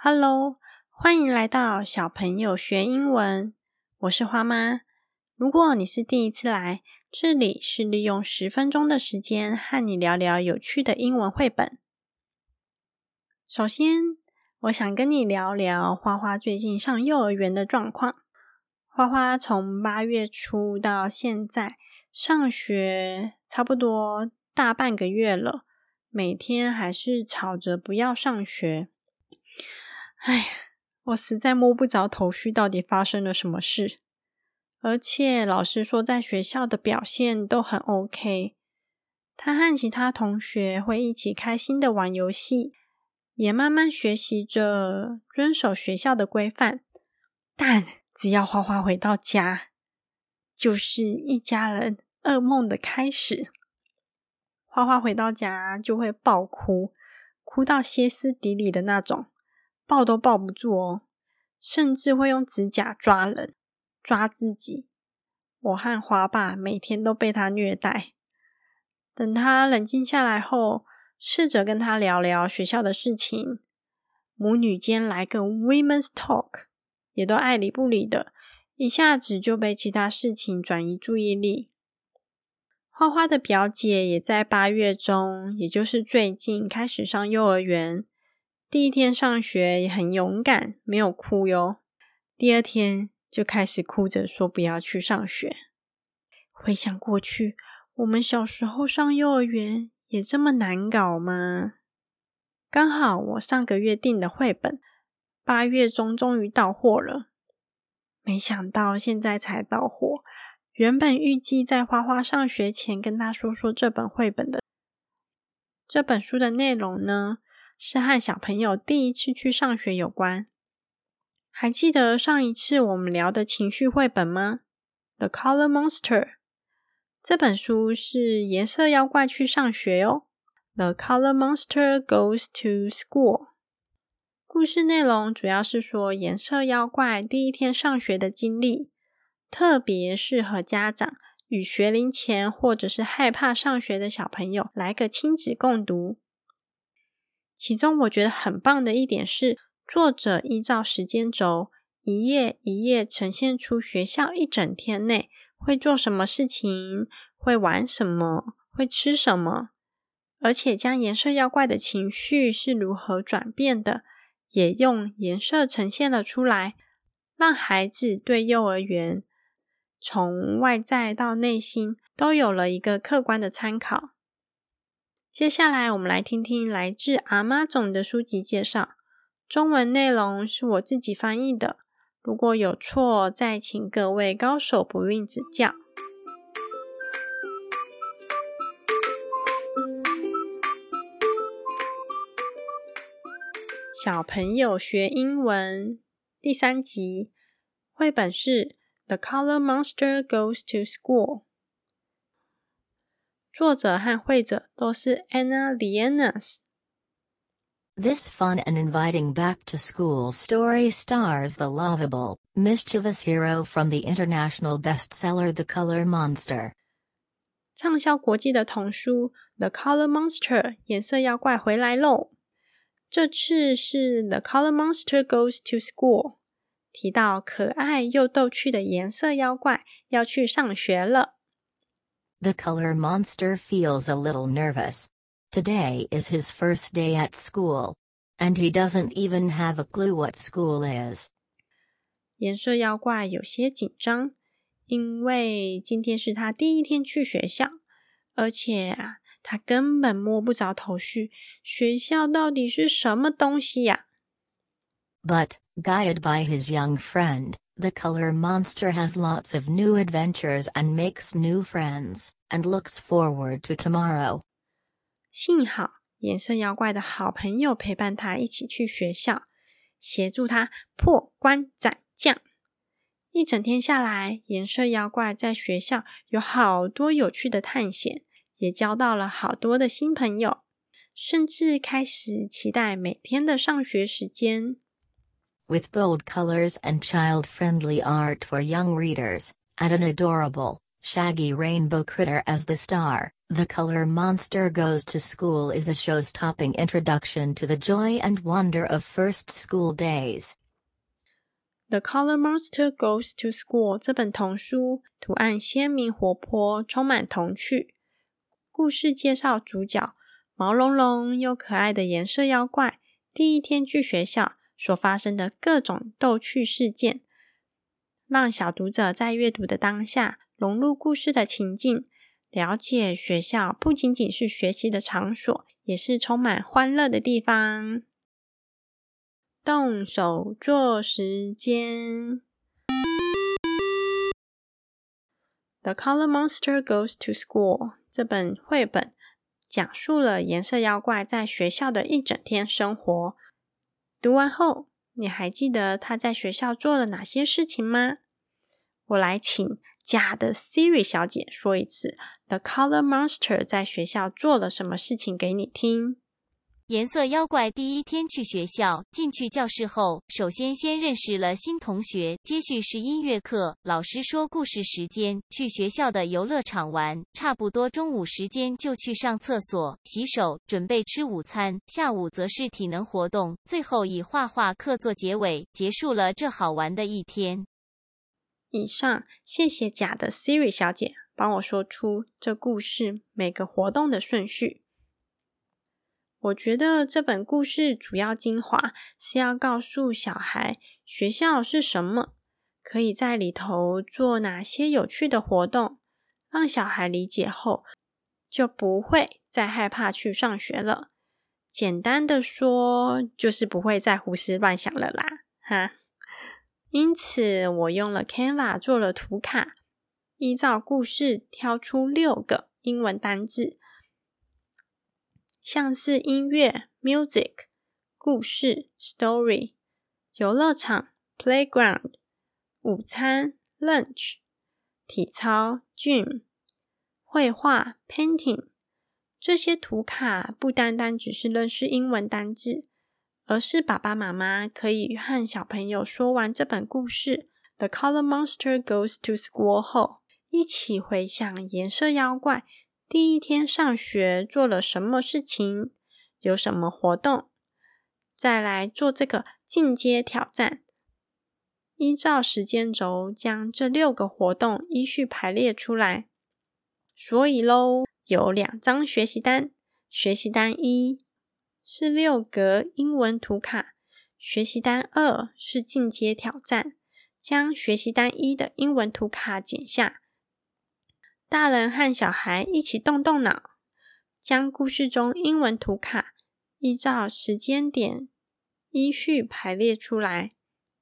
Hello， 欢迎来到小朋友学英文，我是花妈。如果你是第一次来，这里是利用10分钟的时间和你聊聊有趣的英文绘本。首先，我想跟你聊聊花花最近上幼儿园的状况。花花从8月初到现在上学差不多大半个月了，每天还是吵着不要上学。我实在摸不着头绪，到底发生了什么事。而且老师说在学校的表现都很 OK， 他和其他同学会一起开心的玩游戏，也慢慢学习着遵守学校的规范。但只要花花回到家，就是一家人噩梦的开始。花花回到家就会爆哭，哭到歇斯底里的那种，抱都抱不住哦，甚至会用指甲抓人，抓自己。我和花爸每天都被他虐待。等他冷静下来后，试着跟他聊聊学校的事情，母女间来个 Women's Talk， 也都爱理不理的，一下子就被其他事情转移注意力。花花的表姐也在8月中，也就是最近开始上幼儿园。第一天上学也很勇敢，没有哭哟。第二天就开始哭着说不要去上学。回想过去，我们小时候上幼儿园也这么难搞吗？刚好我上个月订的绘本8月中终于到货了，没想到现在才到货。原本预计在花花上学前跟他说这本绘本的。这本书的内容呢，是和小朋友第一次去上学有关。还记得上一次我们聊的情绪绘本吗？ The Color Monster。 这本书是颜色妖怪去上学哦。 The Color Monster Goes to School。 故事内容主要是说颜色妖怪第一天上学的经历，特别适合家长与学龄前或者是害怕上学的小朋友来个亲子共读。其中我觉得很棒的一点是，作者依照时间轴，一页一页呈现出学校一整天内会做什么事情，会玩什么，会吃什么，而且将颜色妖怪的情绪是如何转变的，也用颜色呈现了出来，让孩子对幼儿园从外在到内心都有了一个客观的参考。接下来我们来听听来自阿妈总的书籍介绍，中文内容是我自己翻译的，如果有错再请各位高手不吝指教。小朋友学英文第3集，绘本是 The Color Monster Goes to School， 作者和绘者都是 Anna Lianas。 This fun and inviting back-to-school story stars the lovable, mischievous hero from the international bestseller The Color Monster。 畅销国际的童书 The Color Monster 颜色妖怪回来咯。这次是 The Color Monster Goes to School， 提到可爱又逗趣的颜色妖怪要去上学了。 The Color Monster feels a little nervous. Today is his first day at school. And he doesn't even have a clue what school is. 颜色妖怪有些紧张，因为今天是他第一天去学校，而且他根本摸不着头绪，学校到底是什么东西呀 ？But, guided by his young friend, the Color Monster has lots of new adventures and makes new friends, and looks forward to tomorrow. 幸好颜色妖怪的好朋友陪伴他一起去学校，协助他破关斩将。一整天下来，颜色妖怪在学校有好多有趣的探险，也交到了好多的新朋友，甚至开始期待每天的上学时间。 With bold colors and child-friendly art for young readers, and an adorable, Shaggy Rainbow Critter as the star, The Color Monster Goes to School is a show-stopping introduction to the joy and wonder of first school days. The Color Monster Goes to School 这本童书图案鲜明活泼，充满童趣。故事介绍主角毛茸茸又可爱的颜色妖怪第一天去学校所发生的各种逗趣事件，让小读者在阅读的当下融入故事的情境，了解学校不仅仅是学习的场所，也是充满欢乐的地方。动手做时间。The Color Monster Goes to School 这本绘本讲述了颜色妖怪在学校的一整天生活。读完后，你还记得他在学校做了哪些事情吗？我来请假的 Siri 小姐说一次 The Color Monster 在学校做了什么事情给你听。 颜色妖怪第一天去学校，进去教室后，首先认识了新同学，接续是音乐课，老师说故事时间，去学校的游乐场玩，差不多中午时间就去上厕所、洗手，准备吃午餐，下午则是体能活动，最后以画画课做结尾，结束了这好玩的一天。 以上，谢谢假的 Siri 小姐帮我说出这故事每个活动的顺序。我觉得这本故事主要精华是要告诉小孩学校是什么，可以在里头做哪些有趣的活动，让小孩理解后就不会再害怕去上学了。简单的说，就是不会再胡思乱想了啦，哈。因此，我用了 Canva 做了图卡，依照故事挑出6个英文单字，像是音乐 music、故事 story、游乐场 playground、午餐 lunch、体操 gym、绘画 painting。这些图卡不单单只是认识英文单字，而是爸爸妈妈可以和小朋友说完这本故事 The Color Monster Goes to School 后，一起回想颜色妖怪第一天上学做了什么事情，有什么活动，再来做这个进阶挑战。依照时间轴将这6个活动依序排列出来。所以咯，有2张学习单，学习单1是6格英文图卡，学习单2是进阶挑战，将学习单1的英文图卡剪下。大人和小孩一起动动脑，将故事中英文图卡依照时间点依序排列出来。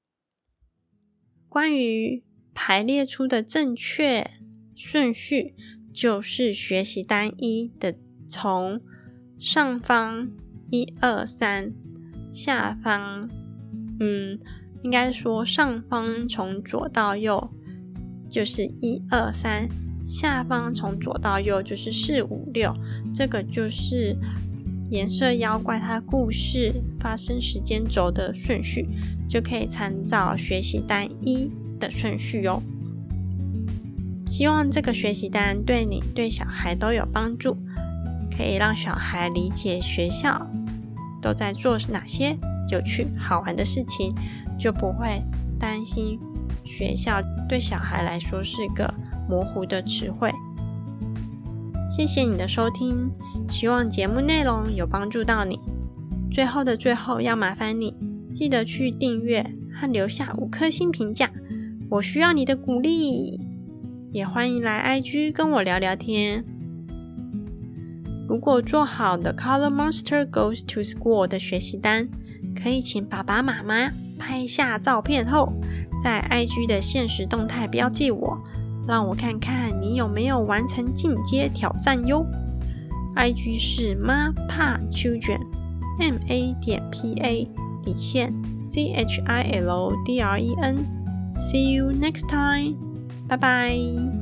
关于排列出的正确顺序，就是学习单1的从上方1、2、3，下方应该说上方从左到右就是1、2、3，下方从左到右就是4、5、6，这个就是颜色妖怪它故事发生时间轴的顺序，就可以参照学习单1的顺序哦。希望这个学习单对你对小孩都有帮助，可以让小孩理解学校都在做哪些有趣好玩的事情，就不会担心学校对小孩来说是个模糊的词汇。谢谢你的收听，希望节目内容有帮助到你。最后的最后，要麻烦你记得去订阅和留下5颗星评价，我需要你的鼓励。也欢迎来 IG 跟我聊聊天。如果做好The Color Monster Goes to School 的学习单，可以请爸爸妈妈拍下照片后，在 IG 的限时动态标记我，让我看看你有没有完成进阶挑战哟。IG 是 MaPaChildren MA.PA_CHILDREN。See you next time. 拜拜。